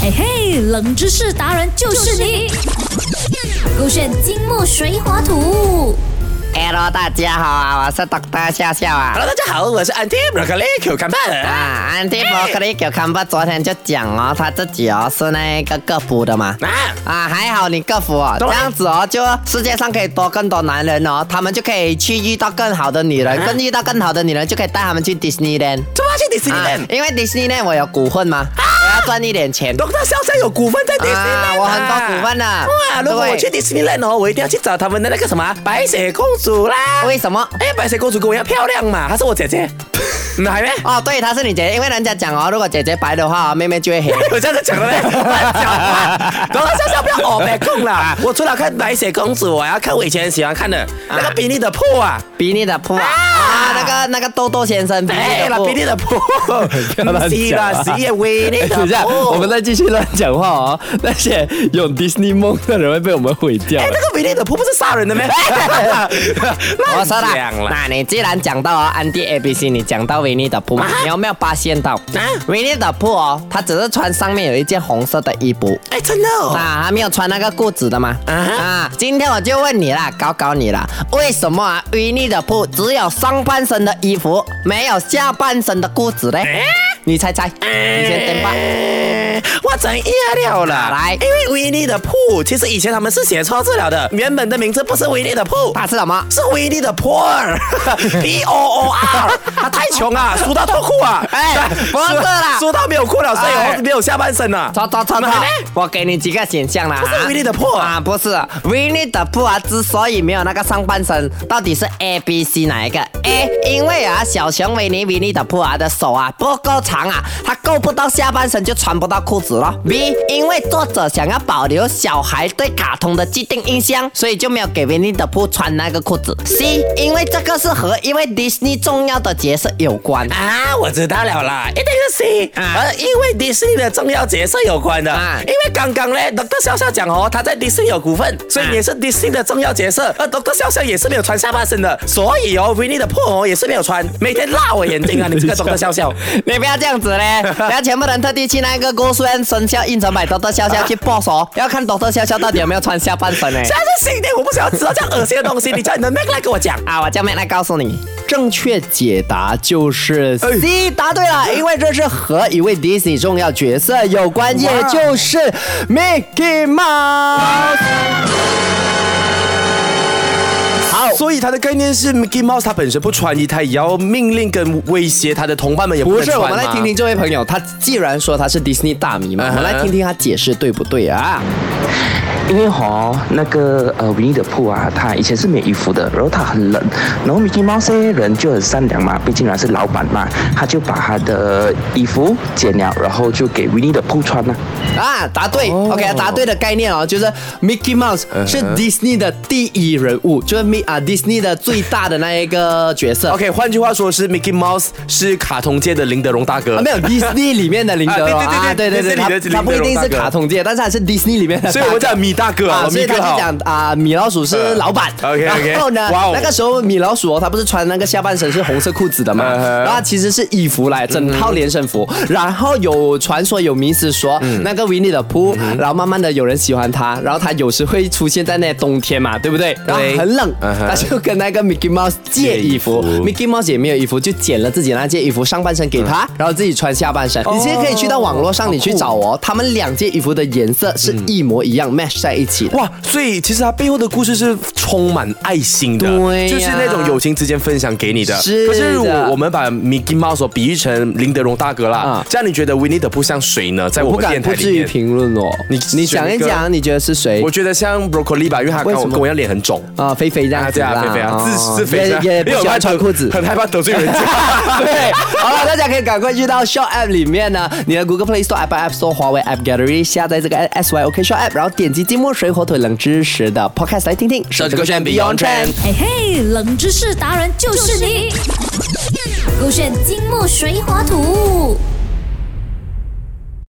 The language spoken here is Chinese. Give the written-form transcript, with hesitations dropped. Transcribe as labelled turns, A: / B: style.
A: 嘿嘿，冷知识达人就是你。勾选金木水火土。
B: Hello， 大家好啊，我是 Dr. 笑笑啊。
C: Hello， 大家好，我是 Anti Broccoli Cucumber
B: 啊。Anti Broccoli Cucumber 昨天就讲哦，他自己哦是那个各服的嘛。还好你各服哦，这样子哦，就世界上可以多更多男人哦，他们就可以去遇到更好的女人，遇到更好的女人就可以带他们去 Disneyland。
C: 怎么去 Disneyland？
B: 因为 Disneyland 我有股份嘛。我要赚一点钱。
C: Dr. 笑笑有股份在 Disneyland，
B: 我很多股份的。
C: 哇，如果我去 Disneyland 哦，我一定要去找他们的那个什么白雪公主啦。
B: 为什么？
C: 白雪公主跟我一样漂亮嘛，她是我姐姐。还没？
B: 哦，对，她是你姐姐，因为人家讲哦，如果姐姐白的话，妹妹就会黑。
C: 有这样子讲的咩？讲话，Dr. 笑笑不要白控啦。我除了看白雪公主，我要看我以前喜欢看的那个比利的铺啊，
B: 比利的铺啊，那个豆豆先生，
C: 对了，比利的铺，是啦，是也维尼的铺。
D: 等一下，我们再继续乱讲话哦。那些有 Disney 梦的人会被我们毁掉。
C: 那个维尼的铺不是杀人的咩？
B: 我说了，那你既然讲到哦，Andy ABC， 你讲到维尼的铺，你有没有发现到维尼的铺哦，他只是穿上面有一件红色的衣服，
C: 真的哦，
B: 他没有穿那个裤子的吗？今天我就问你啦，搞你啦，为什么啊维尼的铺只有上半身的衣服，没有下半身的裤子呢？你猜，你先登吧。
C: 我知了啦，
B: 来，
C: 因为维尼的铺其实以前他们是写错字了的，原本的名字不是维尼的铺，
B: 它是什么？
C: 是维尼的 Poor P-O-O-R， 他太穷啊，输到脱裤啊，
B: 不是啦，
C: 输到没有裤了，所以没有下半身了。
B: 错，我给你几个选项啦，
C: 不是维尼的铺
B: 啊，不是维尼的铺啊，之所以没有那个上半身，到底是 A、B、C 哪一个 ？A， 因为啊小熊维尼的铺啊的手啊不够长啊，它够不到下半身就穿不到裤子了。B， 因为作者想要保留小孩对卡通的既定印象，所以就没有给维尼的铺穿那个裤子。C， 因为这个是和一位 Disney 重要的角色有关
C: 啊，我知道了啦，一定是 C，因为 Disney 的重要角色有关的。因为刚刚呢 Dr. 笑笑讲哦，他在 Disney 有股份，所以也是 Disney 的重要角色。Dr. 笑笑也是没有穿下半身的，所以哦，维尼的铺哦也是没有穿，每天辣我眼睛啊！你这个 Dr. 笑笑，
B: 你不要这样子嘞，不要全部人特地去那个郭书恩生肖印成买 Dr. 笑笑去 boss 哦，要看 Dr. 笑笑到底有没有穿下半身呢？
C: 现在是新的，我不想要知道这样恶心的东西，你叫你的 Mac 来跟我讲
B: 啊，我叫 Mac 来告诉你。
D: 正确解答就是 C， 答对了，因为这是和一位 Disney 重要角色有关，也就是 Mickey Mouse。
C: 好，所以他的概念是 Mickey Mouse 他本身不穿衣，他也要命令跟威胁他的同伴们也不能穿吗？
D: 不是，我们来听听这位朋友，他既然说他是 Disney 大迷嘛，我们来听听他解释对不对啊？
E: 因为那个维尼的铺啊，他以前是没有衣服的，然后他很冷，然后 Mickey Mouse 人就很善良嘛，毕竟他是老板嘛，他就把他的衣服剪了，然后就给维尼的铺穿了。
D: 答对，OK， 答对的概念哦，就是 Mickey Mouse 是 Disney 的第一人物，就是Disney 的最大的那一个角色。
C: OK， 换句话说是 Mickey Mouse 是卡通界的林德荣大哥。
D: 没有 Disney 里面的林德荣
C: 对，
D: 他不一定是卡通界，但是他是 Disney 里面的。
C: 所以我讲米大哥
D: 所以他就讲米老鼠是老板。
C: OK，
D: 然后呢，那个时候米老鼠他不是穿那个下半身是红色裤子的嘛，然后其实是衣服来，整套连身服。然后有传说有迷思说那个维尼的铺，然后慢慢的有人喜欢他，然后他有时会出现在那冬天嘛，对不对？然后很冷，他就跟那个 Mickey Mouse 借衣服，Mickey Mouse 也没有衣服，就捡了自己那件衣服上半身给他，然后自己穿下半身。你现在可以去到网络上你去找哦，他们两件衣服的颜色是一模一样 match 在一起的。
C: 哇，所以其实他背后的故事是充满爱心的，
D: 对，
C: 就是那种友情之间分享给你的。
D: 是的。
C: 可是如果我们把 Mickey Mouse 比喻成林德荣大哥啦，这样你觉得维尼的铺像谁呢？在我们电台里面，
D: 不至于评论哦。你讲一讲，你觉得是谁？
C: 我觉得像 Broccoli 吧，因为他跟我一样脸很肿
D: 啊，肥肥这样子啦。
C: 对啊，肥肥啊，自肥
D: 也不喜欢穿裤子，
C: 很害怕得罪人家。
D: 对，好了，大家可以赶快去到 Shop App 里面呢，你的 Google Play Store、Apple App Store、华为 App Gallery 下载这个 SYOK Shop App， 然后点击金木水火土冷知识的 Podcast 来听听。
C: 手指勾选 Beyond Trend，
A: 嘿嘿，冷知识达人就是你。勾选金木水火土。